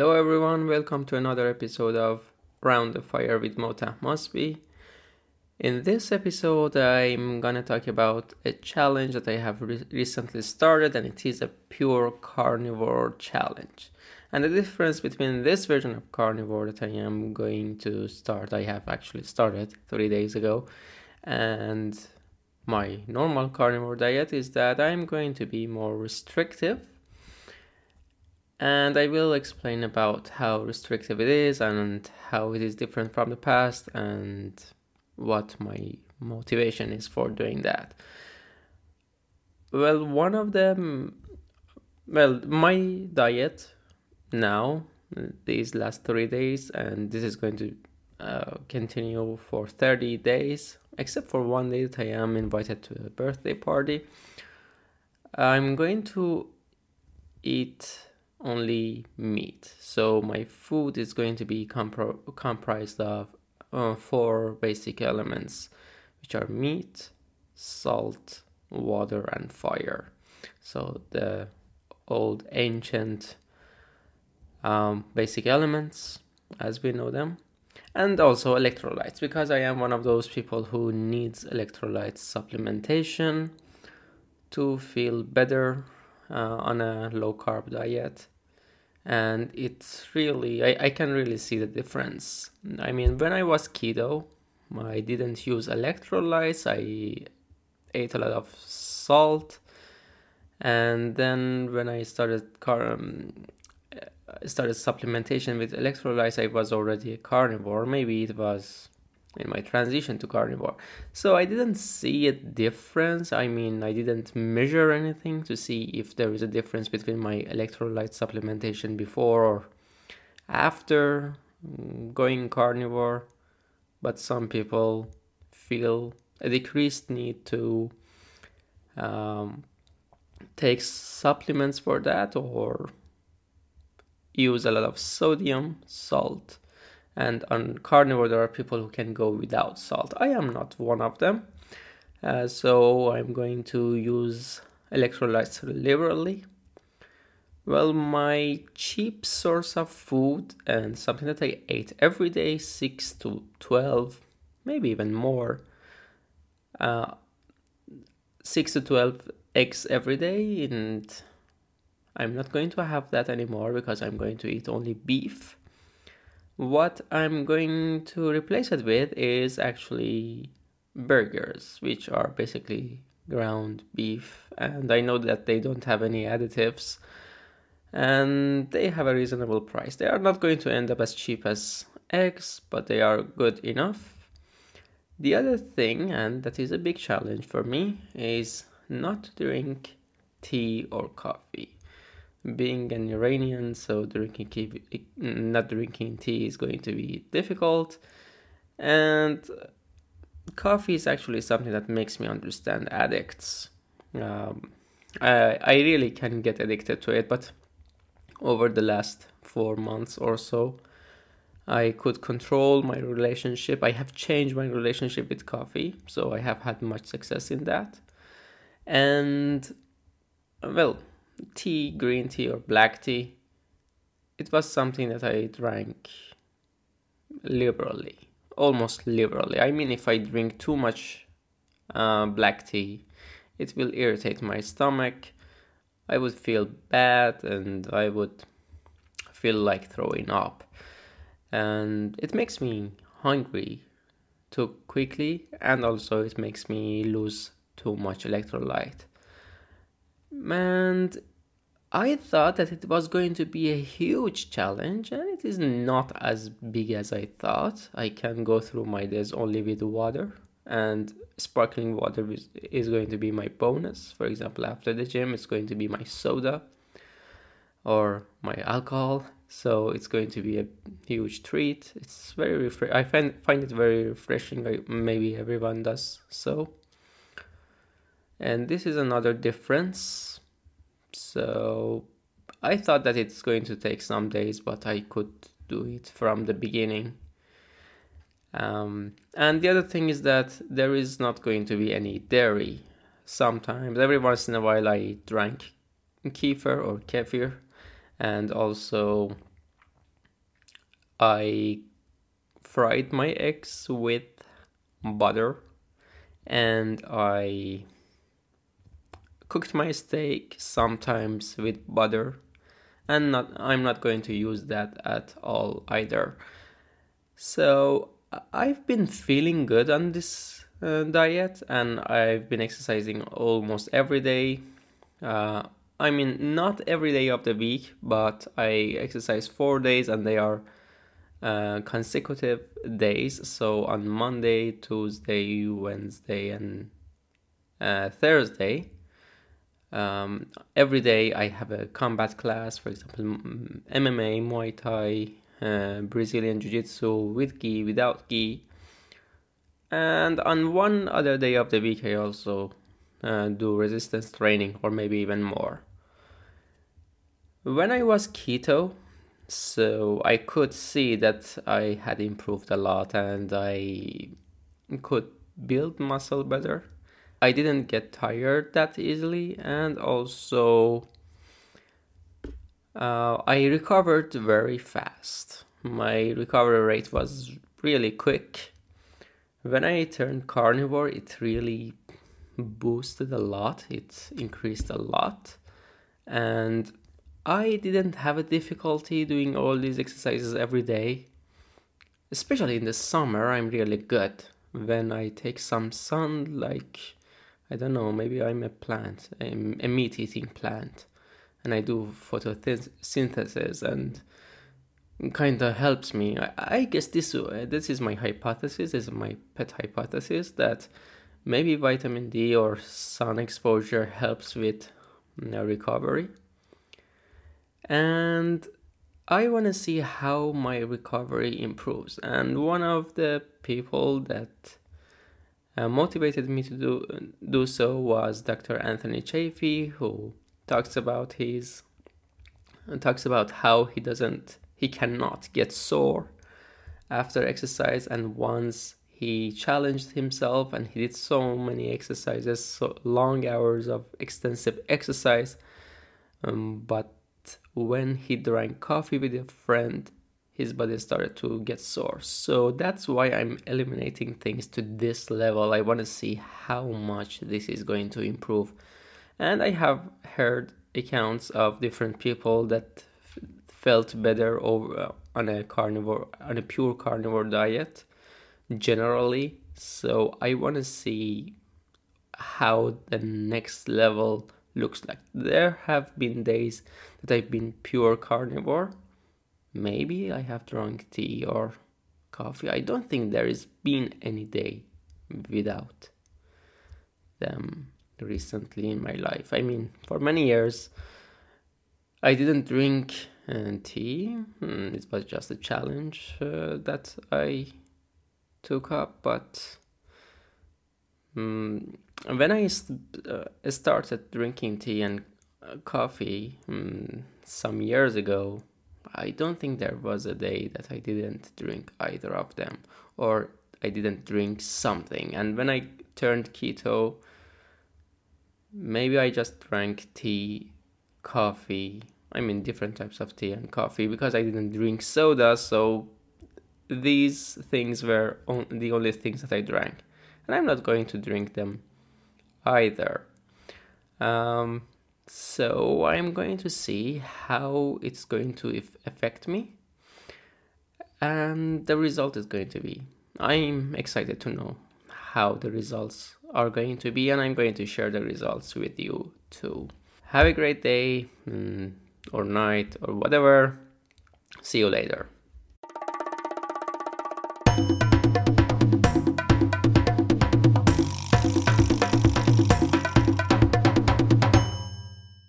Hello everyone, welcome to another episode of Round the Fire with Mota Mosby. In this episode, I'm gonna talk about a challenge that I have recently started, and it is a pure carnivore challenge. And the difference between this version of carnivore that I am going to start, I have actually started 3 days ago, and my normal carnivore diet is that I'm going to be more restrictive. And I will explain about how restrictive it is and how it is different from the past and what my motivation is for doing that. Well, one of them, my diet now, these last 3 days, and this is going to continue for 30 days, except for one day that I am invited to a birthday party. I'm going to eat only meat. So my food is going to be comprised of 4 basic elements, which are meat, salt, water, and fire. So the old ancient basic elements as we know them. And also electrolytes, because I am one of those people who needs electrolyte supplementation to feel better on a low-carb diet. And it's really, I can really see the difference. I mean, when I was keto, I didn't use electrolytes. I ate a lot of salt. And then when I started supplementation with electrolytes, I was already a carnivore. Maybe it was in my transition to carnivore. So I didn't see a difference. I mean, I didn't measure anything to see if there is a difference between my electrolyte supplementation before or after going carnivore. But some people feel a decreased need to take supplements for that or use a lot of sodium, salt. And on carnivore, there are people who can go without salt. I am not one of them. So I'm going to use electrolytes liberally. Well, my cheap source of food and something that I ate every day, 6 to 12, maybe even more, 6 to 12 eggs every day. And I'm not going to have that anymore because I'm going to eat only beef. What I'm going to replace it with is actually burgers, which are basically ground beef. And I know that they don't have any additives and they have a reasonable price. They are not going to end up as cheap as eggs, but they are good enough. The other thing, and that is a big challenge for me, is not to drink tea or coffee. Being an Iranian, so not drinking tea is going to be difficult. And coffee is actually something that makes me understand addicts. I really can get addicted to it, but over the last 4 months or so, I could control my relationship. I have changed my relationship with coffee, so I have had much success in that. And, well, tea, green tea or black tea, it was something that I drank liberally, almost liberally. I mean, if I drink too much black tea, it will irritate my stomach. I would feel bad and I would feel like throwing up. And it makes me hungry too quickly, and also it makes me lose too much electrolyte. And I thought that it was going to be a huge challenge, and it is not as big as I thought. I can go through my days only with water, and sparkling water is going to be my bonus. For example, after the gym, it's going to be my soda or my alcohol. So it's going to be a huge treat. It's very I find it very refreshing. Maybe everyone does so. And this is another difference. So I thought that it's going to take some days, but I could do it from the beginning. And the other thing is that there is not going to be any dairy. Sometimes, every once in a while, I drank kefir or kefir, and also I fried my eggs with butter, and I cooked my steak sometimes with butter, and I'm not going to use that at all either. So I've been feeling good on this diet, and I've been exercising almost every day. Uh, I mean, not every day of the week, but I exercise 4 days, and they are consecutive days. So on Monday, Tuesday, Wednesday, and Thursday. Every day I have a combat class, for example, MMA, Muay Thai, Brazilian Jiu Jitsu with gi, without gi. And on one other day of the week, I also do resistance training, or maybe even more. When I was keto, so I could see that I had improved a lot and I could build muscle better. I didn't get tired that easily, and also I recovered very fast. My recovery rate was really quick. When I turned carnivore, it really boosted a lot, it increased a lot, and I didn't have a difficulty doing all these exercises every day. Especially in the summer, I'm really good. When I take some sun, like, I don't know, maybe I'm a plant, I'm a meat eating plant, and I do photosynthesis, and kind of helps me. I guess this is my hypothesis, this is my pet hypothesis, that maybe vitamin D or sun exposure helps with recovery. And I want to see how my recovery improves. And one of the people that motivated me to do so was Dr. Anthony Chaffee, who talks about how he cannot get sore after exercise, and once he challenged himself and he did so many exercises, so long hours of extensive exercise, but when he drank coffee with a friend, his body started to get sore. So that's why I'm eliminating things to this level. I want to see how much this is going to improve. And I have heard accounts of different people that felt better on a pure carnivore diet generally. So I want to see how the next level looks like. There have been days that I've been pure carnivore. Maybe I have drunk tea or coffee. I don't think there has been any day without them recently in my life. I mean, for many years, I didn't drink tea. It was just a challenge that I took up. But when I started drinking tea and coffee some years ago, I don't think there was a day that I didn't drink either of them, or I didn't drink something. And when I turned keto, maybe I just drank tea, coffee, I mean different types of tea and coffee, because I didn't drink soda, so these things were the only things that I drank. And I'm not going to drink them either. So I'm going to see how it's going to affect me, and the result is going to be. I'm excited to know how the results are going to be, and I'm going to share the results with you too. Have a great day or night or whatever. See you later.